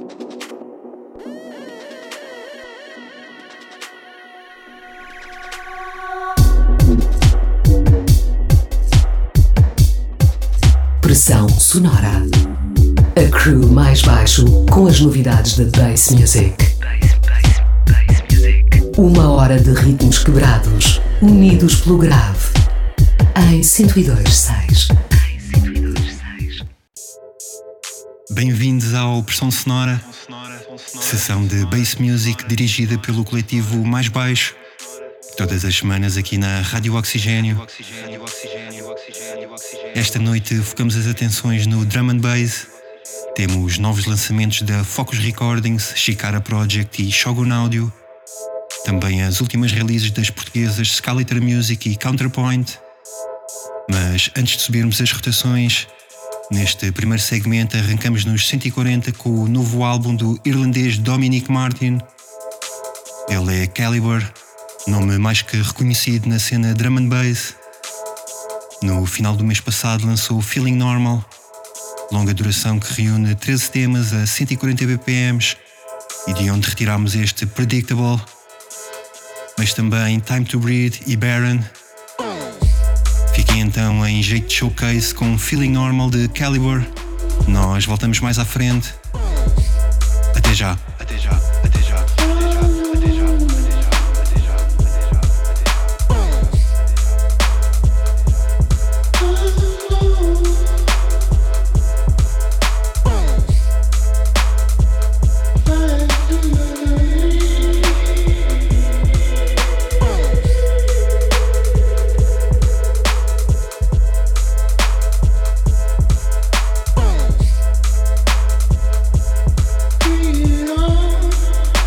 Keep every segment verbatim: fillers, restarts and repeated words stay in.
Pressão sonora. A crew mais baixo com as novidades da Bass Music. Uma hora de ritmos quebrados, unidos pelo grave. Em cento e dois ponto seis. Bem-vindos ao Pressão Sonora, sessão de Bass Music dirigida pelo coletivo Mais Baixo, todas as semanas aqui na Rádio Oxigênio. Esta noite focamos as atenções no Drum and Bass. Temos novos lançamentos da Focus Recordings, Chikara Project e Shogun Audio. Também as últimas releases das portuguesas Skeletor Music e Counterpoint. Mas antes de subirmos as rotações, neste primeiro segmento arrancamos nos cento e quarenta com o novo álbum do irlandês Dominic Martin. Ele é Calibre, nome mais que reconhecido na cena Drum and Bass. No final do mês passado lançou Feeling Normal, longa duração que reúne treze temas a cento e quarenta B P Ms e de onde retiramos este Predictable, mas também Time to Breathe e Baron. Fiquem então em jeito de showcase com Feeling Normal de Calibre. Nós voltamos mais à frente. Até já. Até já. Até já. Até já. Até já. Até já. Be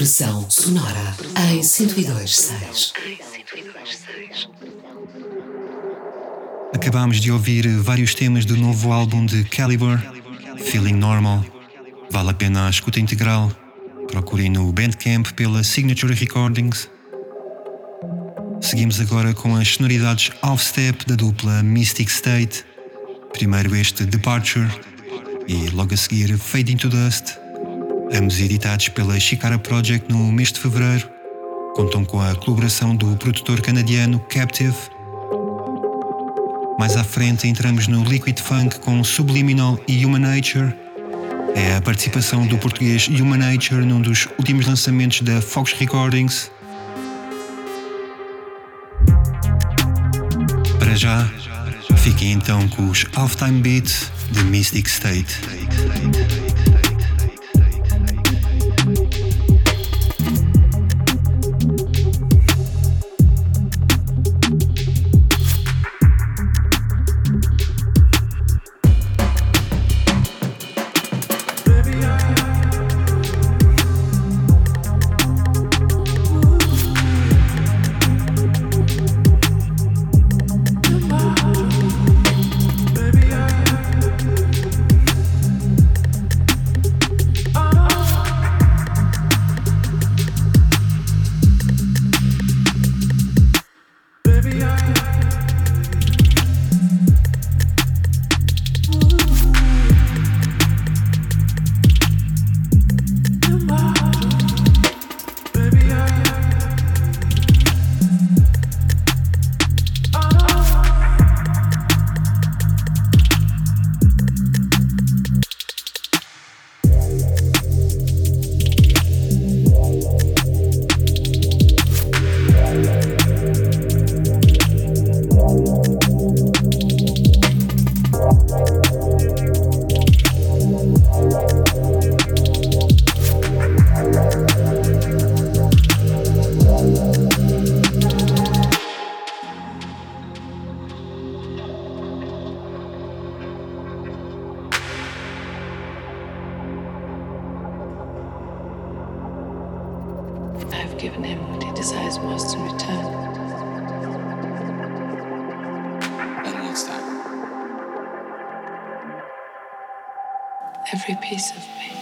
Pressão sonora em cento e dois ponto seis. Acabámos de ouvir vários temas do novo álbum de Calibre, Feeling Normal. Vale a pena a escuta integral. Procurem no Bandcamp pela Signature Recordings. Seguimos agora com as sonoridades off-step da dupla Mystic State. Primeiro este Departure e logo a seguir Fade into Dust. Ambos editados pela Shikara Project no mês de fevereiro. Contam com a colaboração do produtor canadiano Captive. Mais à frente entramos no Liquid Funk com Subliminal e Human Nature. É a participação do português Human Nature num dos últimos lançamentos da Focus Recordings. Para já, fiquem então com os Halftime Beats de Mystic State. Given him what he desires most in return. And what's that? Every piece of me.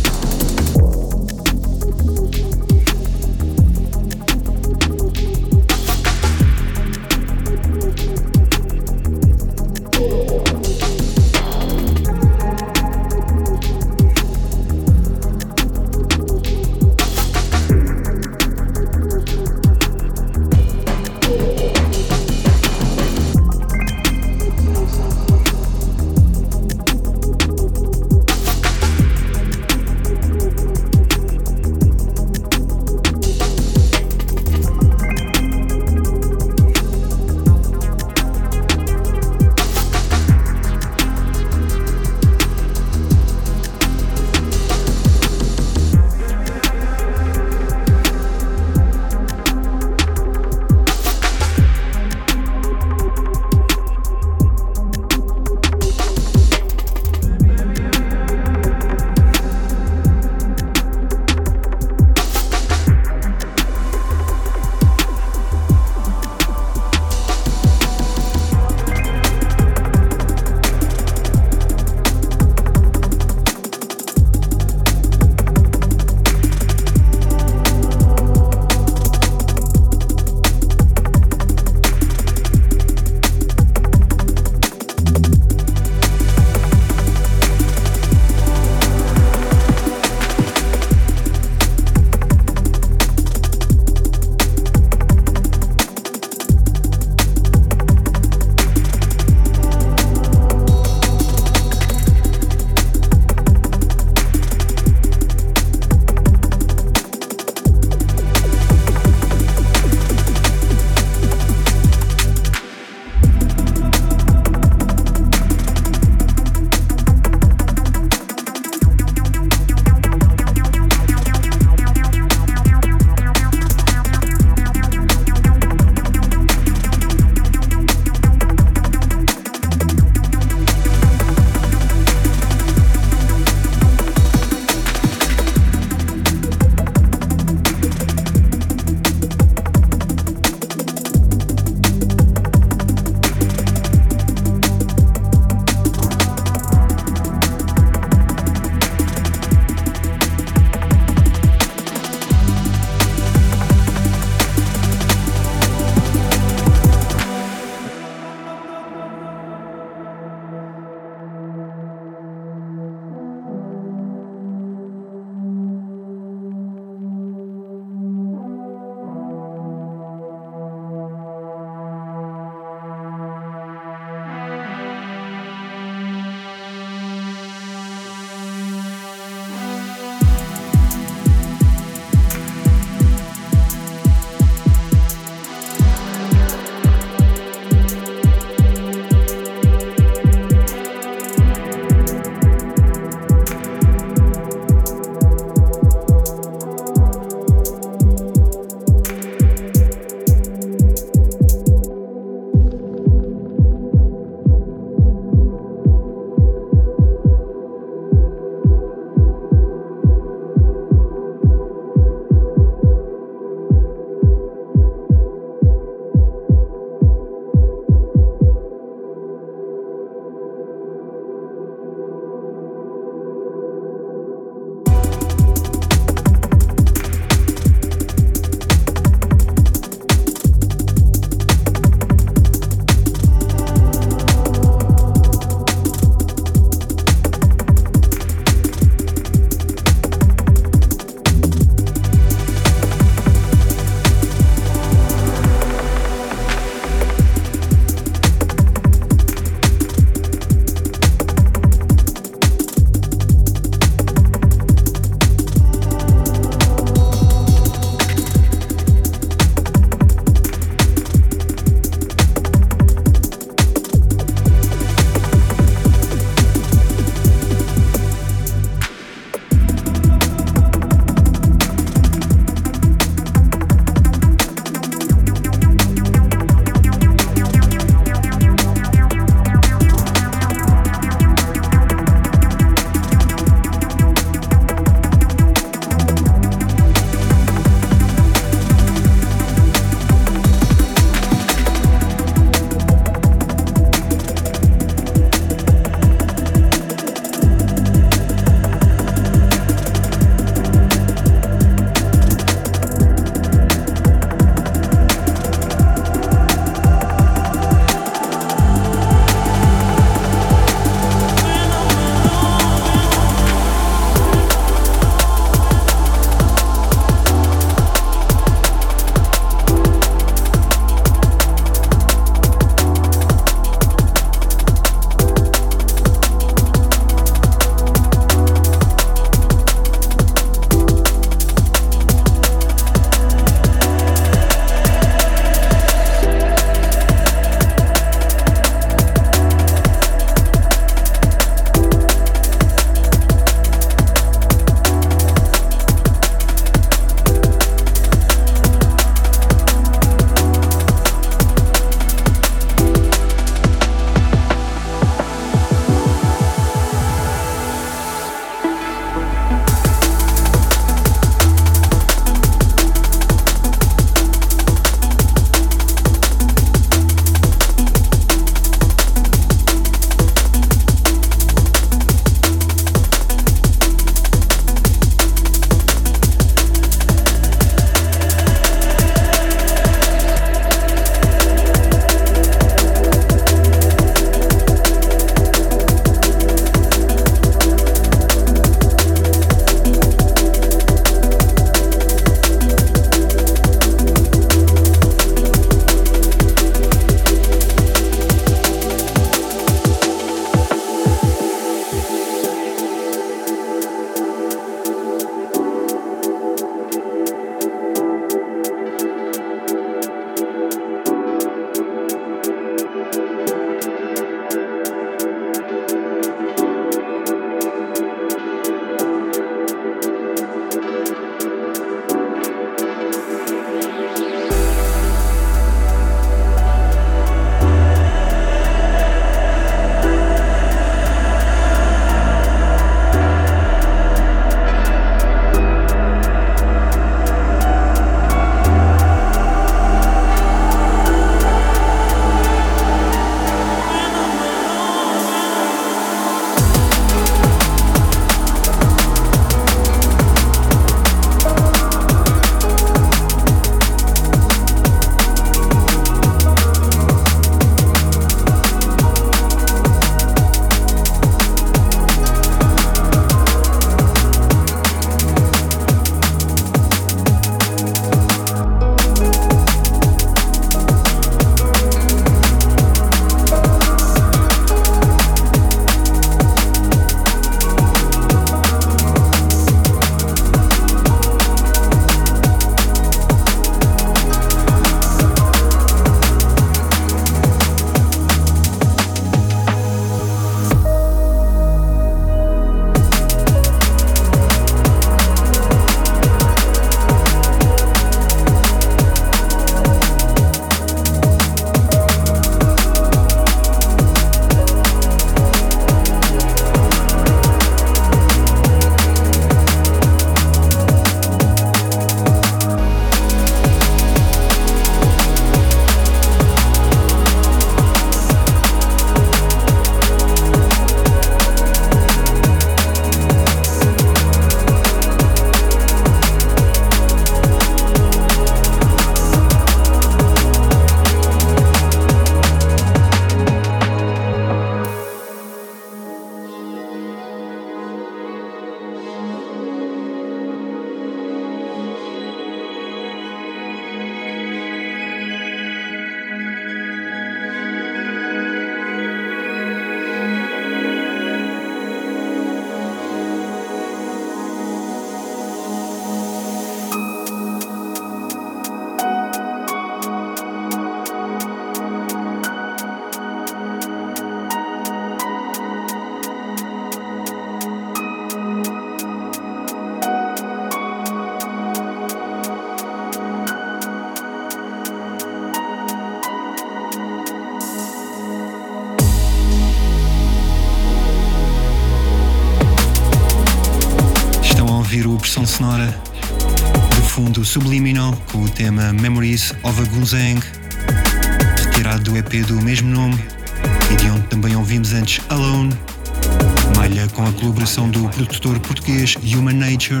ouvir a versão sonora do fundo Subliminal com o tema Memories of a Gunzang, retirado do E P do mesmo nome e de onde também ouvimos antes Alone, malha com a colaboração do produtor português Human Nature.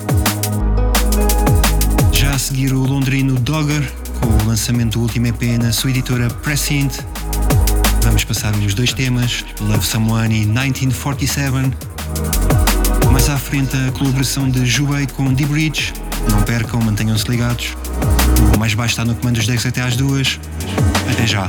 Já a seguir o londrino Dogger com o lançamento do último E P na sua editora Prescient. Vamos passar-lhe os dois temas, Love Someone e nineteen forty-seven. Mais à frente a colaboração de Jubei com D-Bridge. Não percam, mantenham-se ligados. O mais baixo está no comando dos decks até às duas. Até já.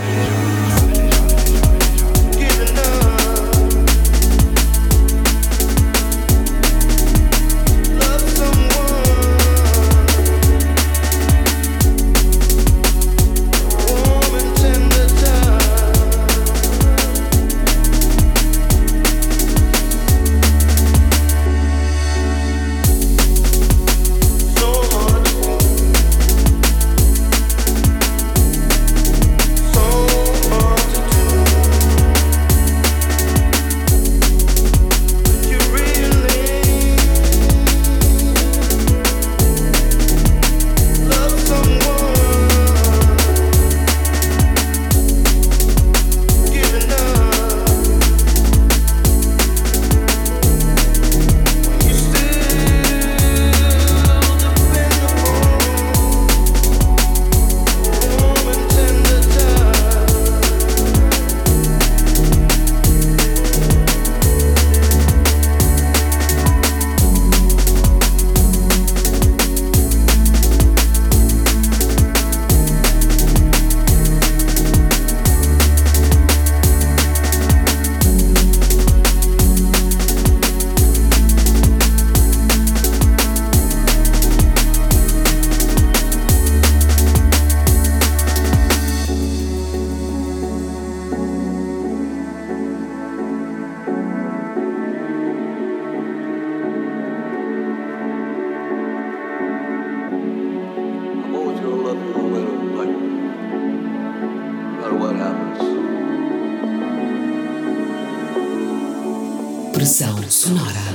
Pressão sonora.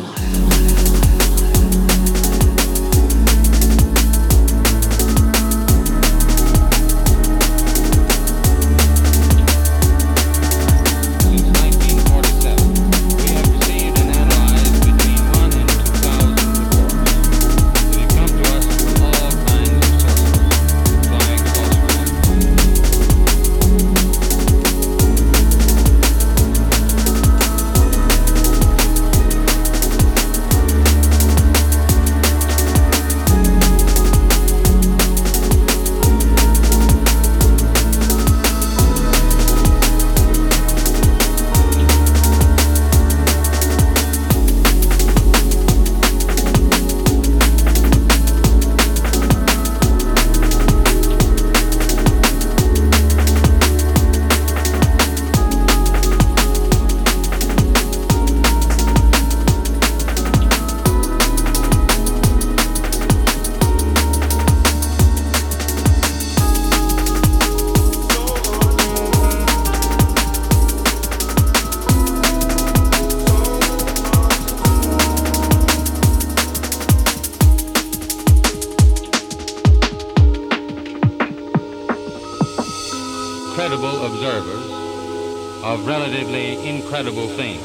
Credible observers of relatively incredible things.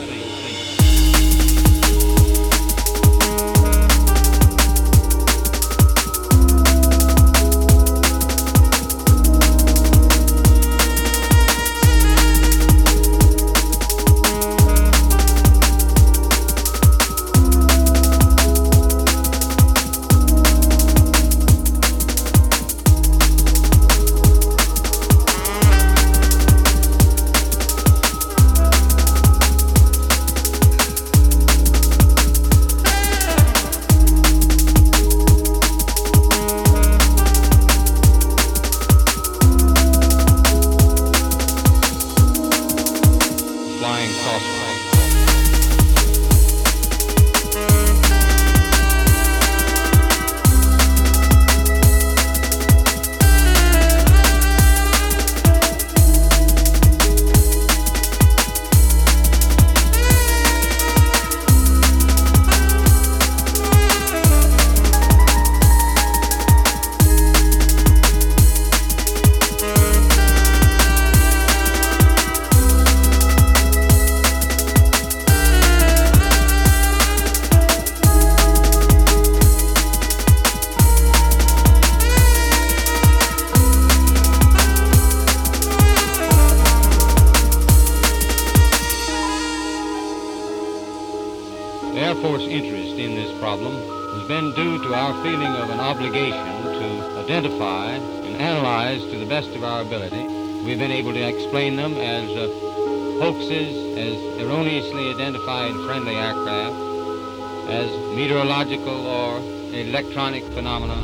Air Force interest in this problem has been due to our feeling of an obligation to identify and analyze to the best of our ability. We've been able to explain them as uh, hoaxes, as erroneously identified friendly aircraft, as meteorological or electronic phenomena.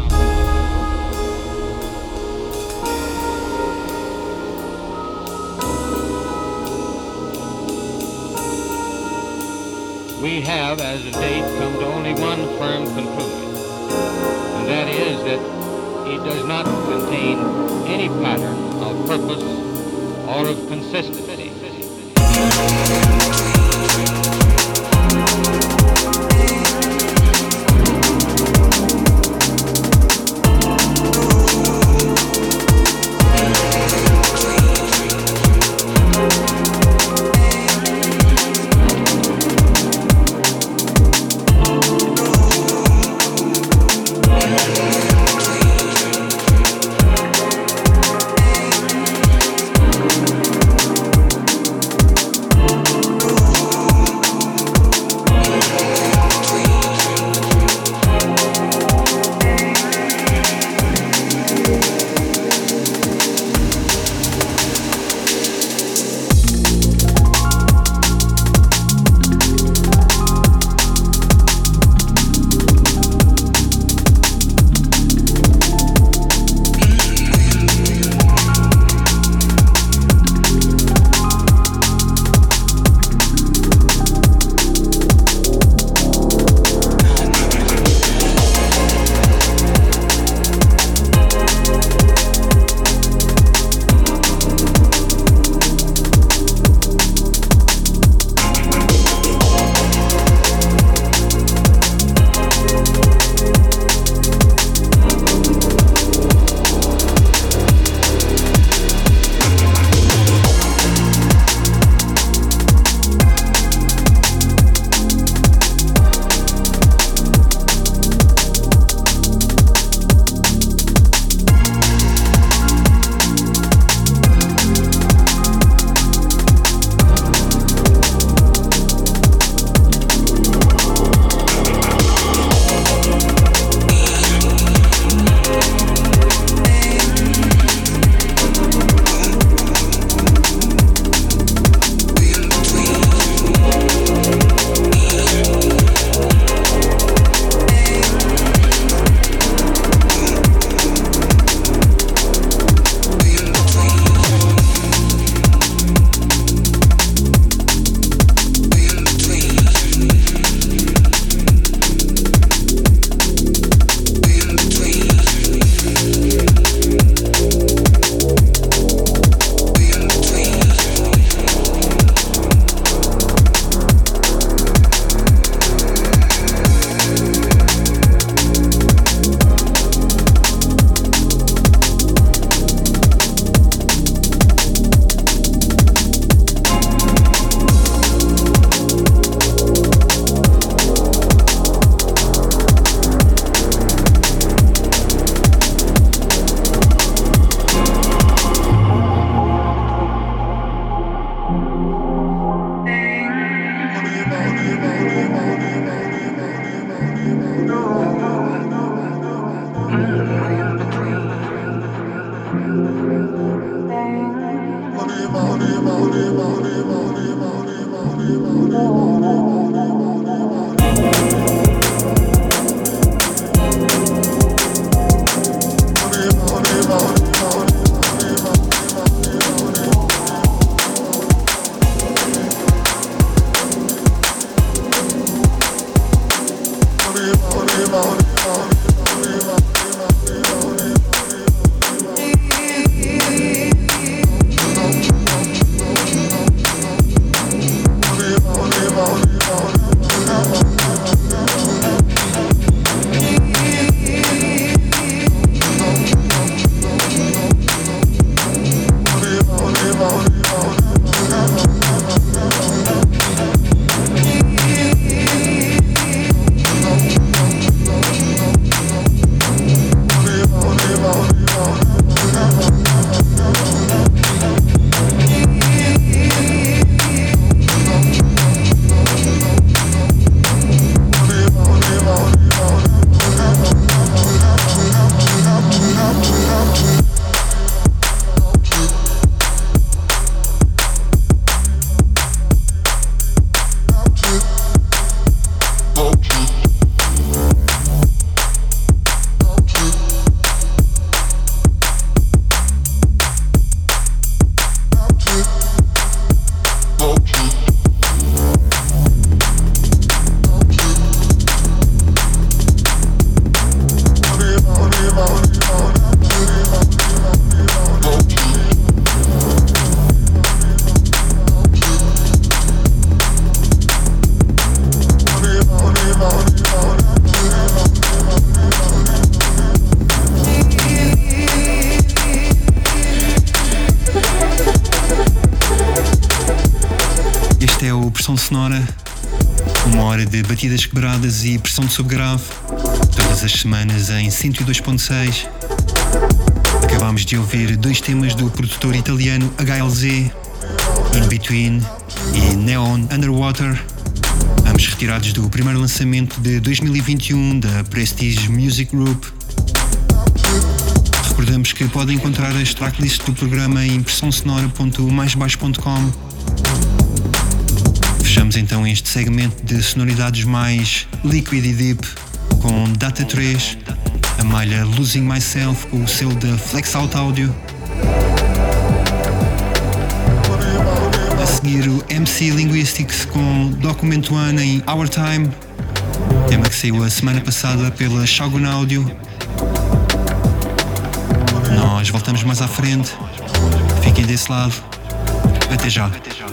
We have, as a date, come to only one firm conclusion, and that is that it does not contain any pattern of purpose or of consistency. Sonora, uma hora de batidas quebradas e pressão de subgrave, todas as semanas em cento e dois ponto seis. Acabámos de ouvir dois temas do produtor italiano H L Z, In Between e Neon Underwater, ambos retirados do primeiro lançamento de dois mil e vinte e um da Prestige Music Group. Recordamos que podem encontrar as tracklists do programa em pressão sonora ponto mais baixo ponto com. Fechamos então este segmento de sonoridades mais liquid e deep com Data três, a malha Losing Myself com o selo da Flex Out Audio. A seguir o M C Linguistics com Document One em Our Time, tema que saiu a semana passada pela Shogun Audio. Nós voltamos mais à frente, fiquem desse lado, até já.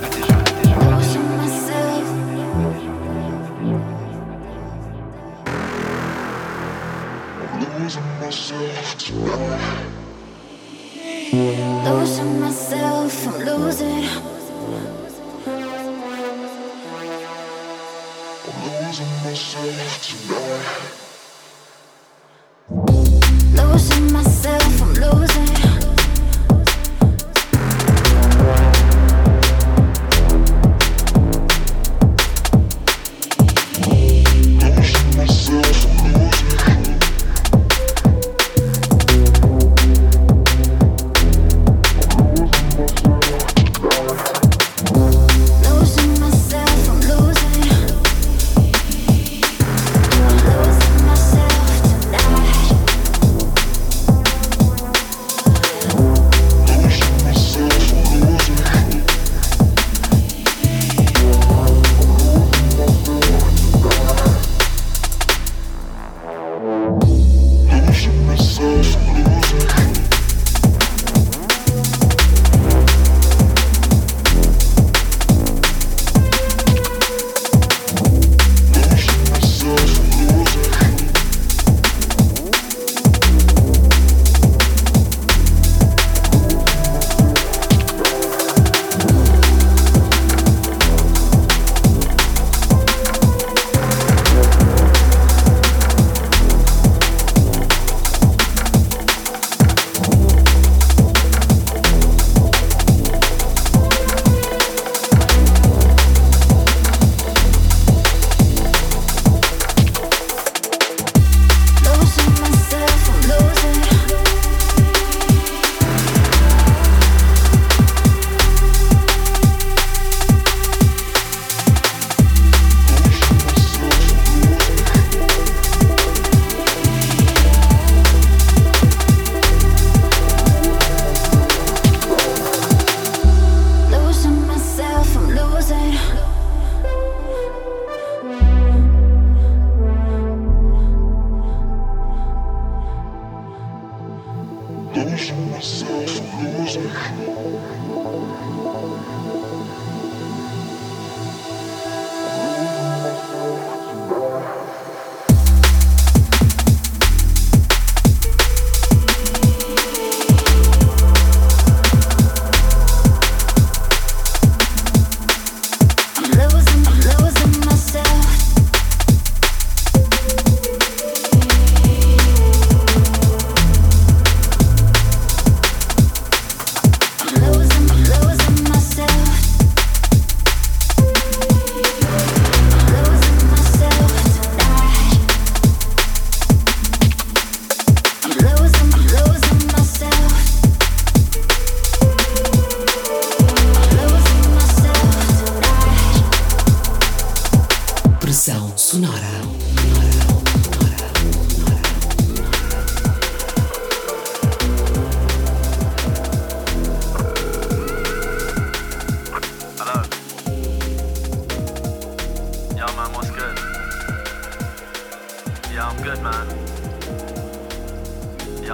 Losing myself, I'm losing. I'm losing myself tonight. Losing myself, I'm losing.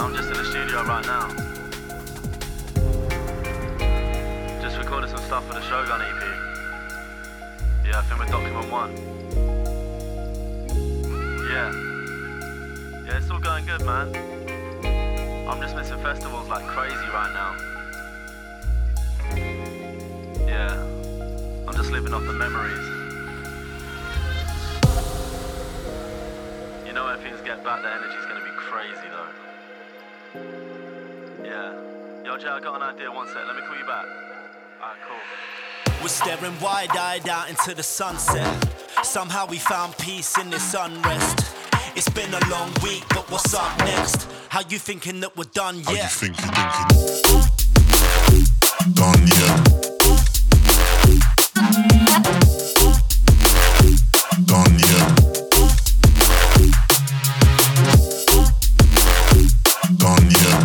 I'm just in the studio right now. Just recorded some stuff for the Shogun E P. Yeah, I filmed with Document One. Yeah. Yeah, it's all going good, man. I'm just missing festivals like crazy right now. Yeah. I'm just living off the memories. You know when things get back, the energy's gonna be crazy though. Yeah. Yo, Jay, I got an idea, one sec, let me call you back. Alright, cool. We're staring wide-eyed out into the sunset. Somehow we found peace in this unrest. It's been a long week, but what's up next? How you thinking that we're done yet? How you thinking, thinking? Done yet? Done yet? Done yet?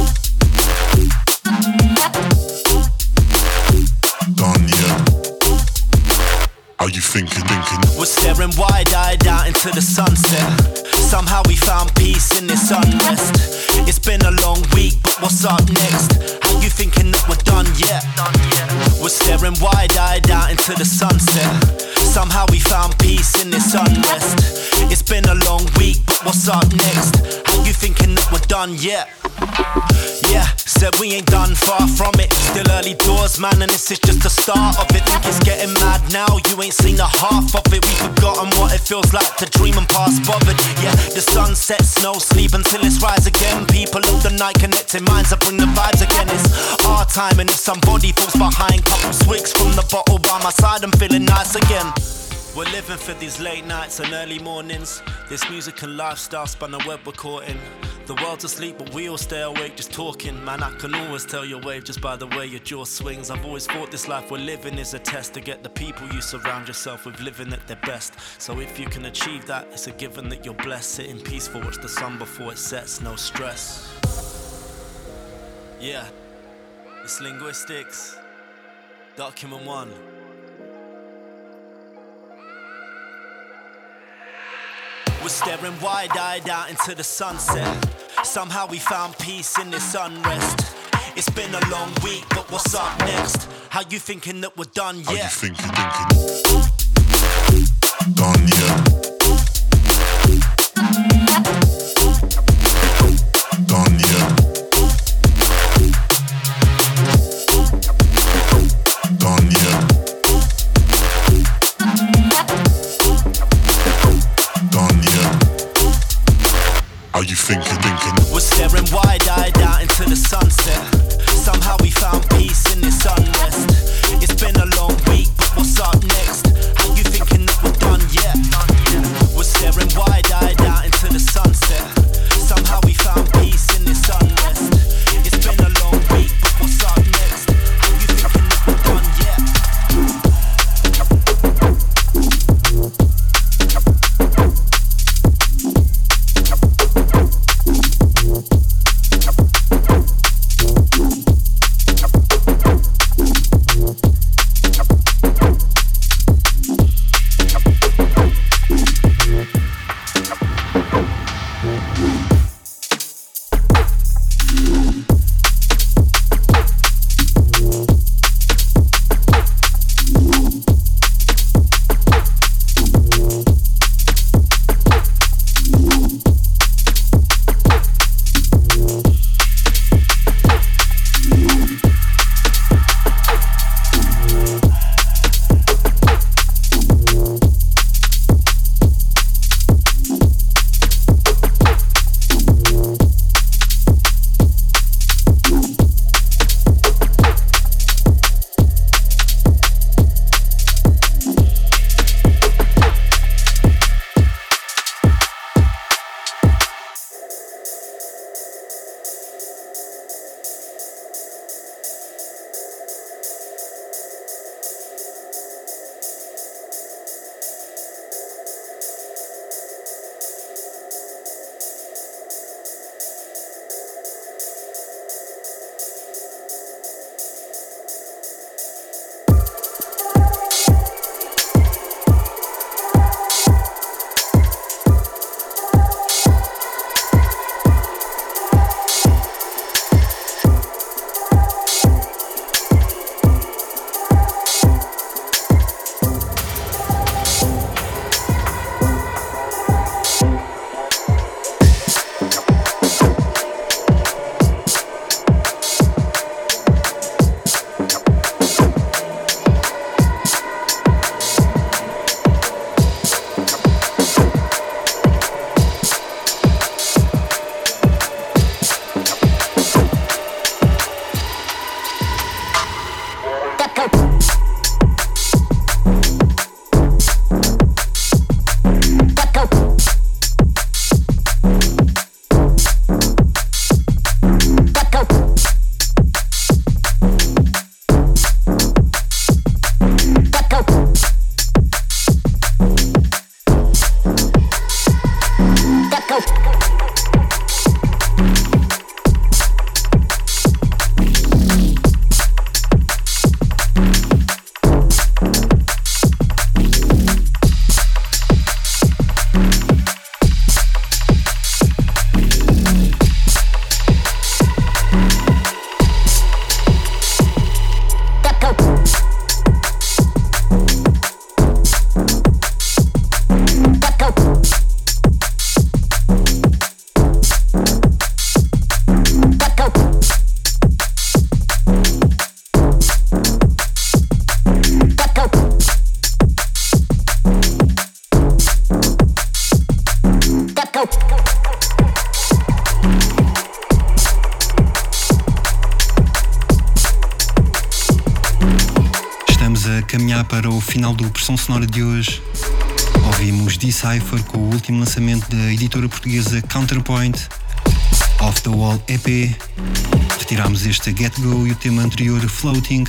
Done yet? How you thinking, thinking? We're staring wide-eyed out into the sunset. Somehow we found peace in this unrest. It's been a long week, but what's up next? How you thinking that we're done yet? We're staring wide-eyed out into the sunset. Somehow we found peace in this unrest. It's been a long week, but what's up next? How you thinking that we're done yet? Yeah, said we ain't done, far from it. Still early doors, man, and this is just the start of it. Think it's getting mad now, you ain't seen the half of it. We've forgotten what it feels like to dream and pass bothered. Yeah, the sun sets, no sleep until it's rise again. People of the night connecting minds that bring the vibes again. It's our time, and if somebody falls behind, couple swigs from the bottle by my side, I'm feeling nice again. We're living for these late nights and early mornings. This music and lifestyle span the web we're caught in. The world's asleep but we all stay awake just talking. Man, I can always tell your wave just by the way your jaw swings. I've always thought this life we're living is a test to get the people you surround yourself with living at their best. So if you can achieve that, it's a given that you're blessed. Sitting peaceful, watch the sun before it sets, no stress. Yeah, it's Linguistics, Document One. We're staring wide-eyed out into the sunset. Somehow we found peace in this unrest. It's been a long week, but what's up next? How you thinking that we're done yet? How you thinking, thinking? Done yet? Done yet? Done yet? Done yet? How you thinking, thinking? We're staring wide-eyed out into the sunset. Somehow we found peace in this unrest. It's been a long week, but what's up next? How you thinking that we're done yet? para o final do Pressão Sonora de hoje. Ouvimos Decipher com o último lançamento da editora portuguesa Counterpoint, Off the Wall E P. Retirámos este Get Go e o tema anterior Floating.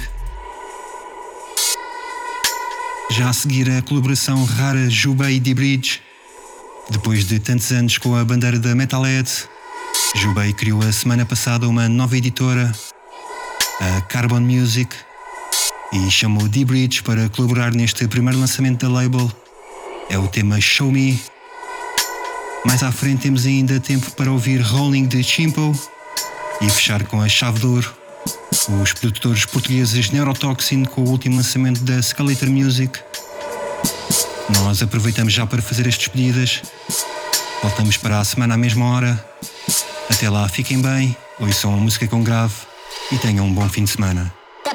Já a seguir a colaboração rara Jubei e D-Bridge. Depois de tantos anos com a bandeira da Metalhead, Jubei criou a semana passada uma nova editora, a Carbon Music, e chamou D-Bridge para colaborar neste primeiro lançamento da label. É o tema Show Me. Mais à frente temos ainda tempo para ouvir Rolling de Chimpo e fechar com a chave de ouro os produtores portugueses Neurotoxin com o último lançamento da Scalator Music. Nós aproveitamos já para fazer as despedidas. Voltamos para a semana à mesma hora. Até lá, fiquem bem, ouçam a música com grave e tenham um bom fim de semana.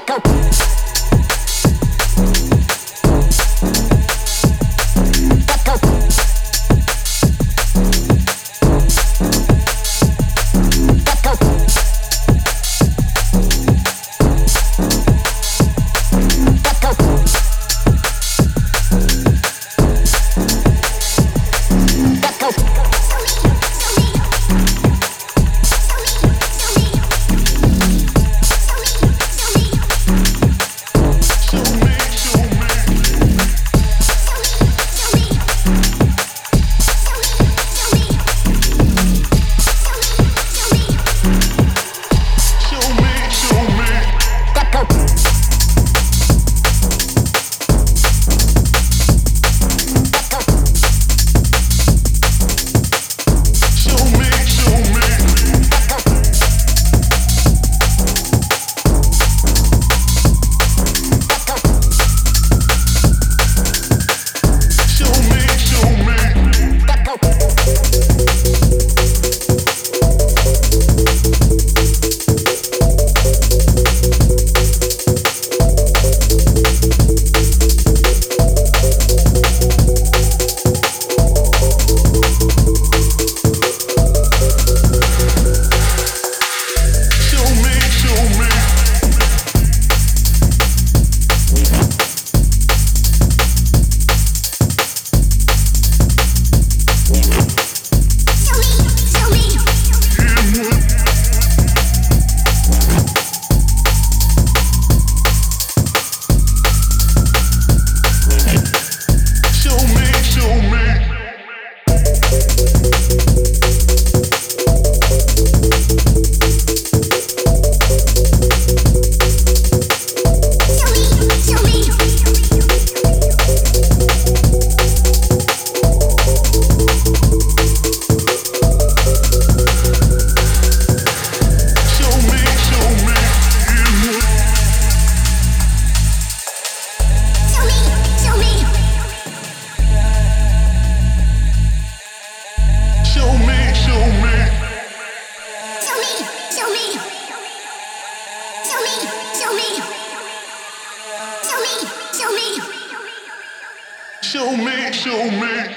Show me, show me.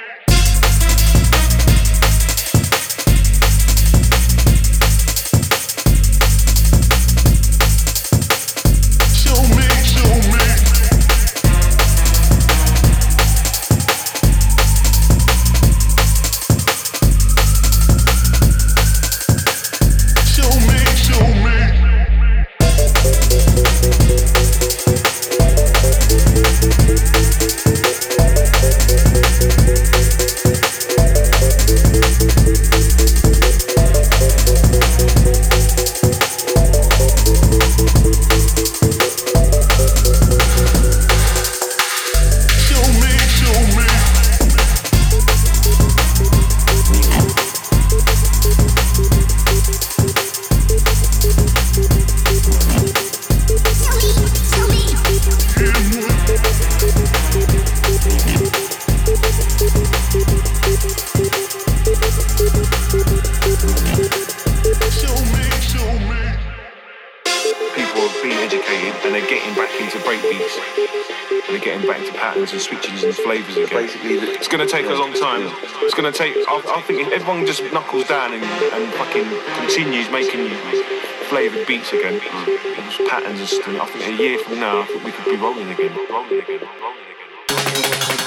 And switches and flavours again. Basically, it's going to take a long time. It's going to take. I, I think if everyone just knuckles down and, and fucking continues making flavoured beats again, mm. patterns and stuff. I think a year from now, I think we could be rolling again, rolling again, rolling again.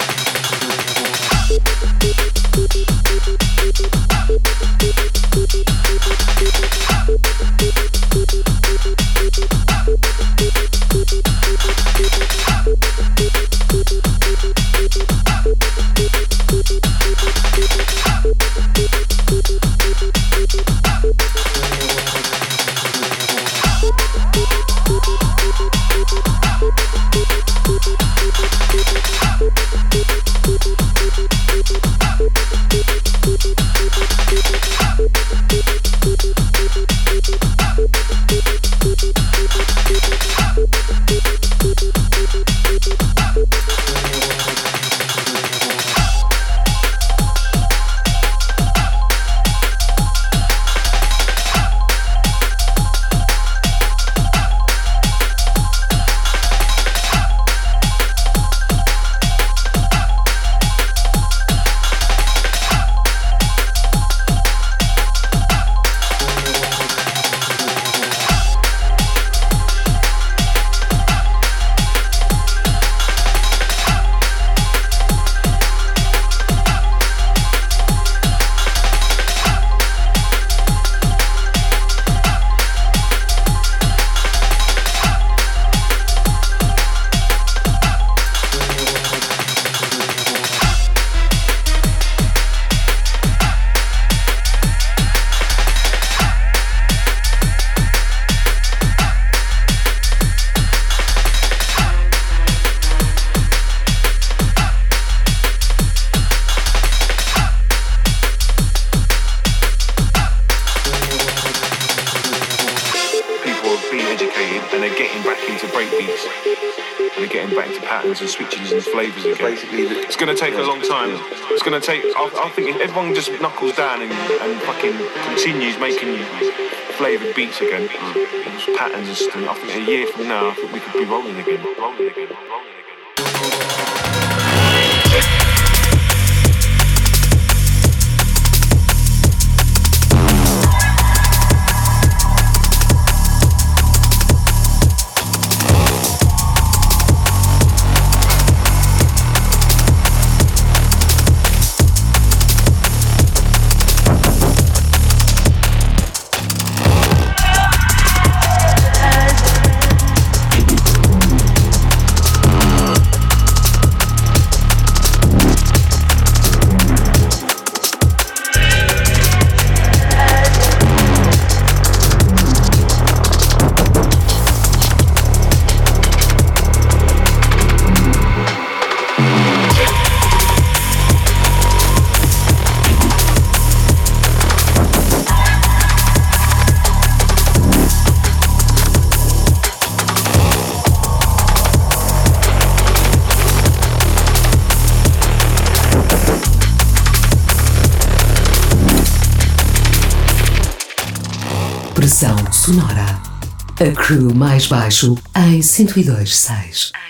And switchings and flavours again. Basically, it's going to take a long time. It's going to take. I, I think if everyone just knuckles down and, and fucking continues making flavoured beats again, mm. patterns and stuff. I think a year from now, I think we could be rolling again, rolling again, rolling again. Pressão sonora. A crew mais baixo em cento e dois ponto seis.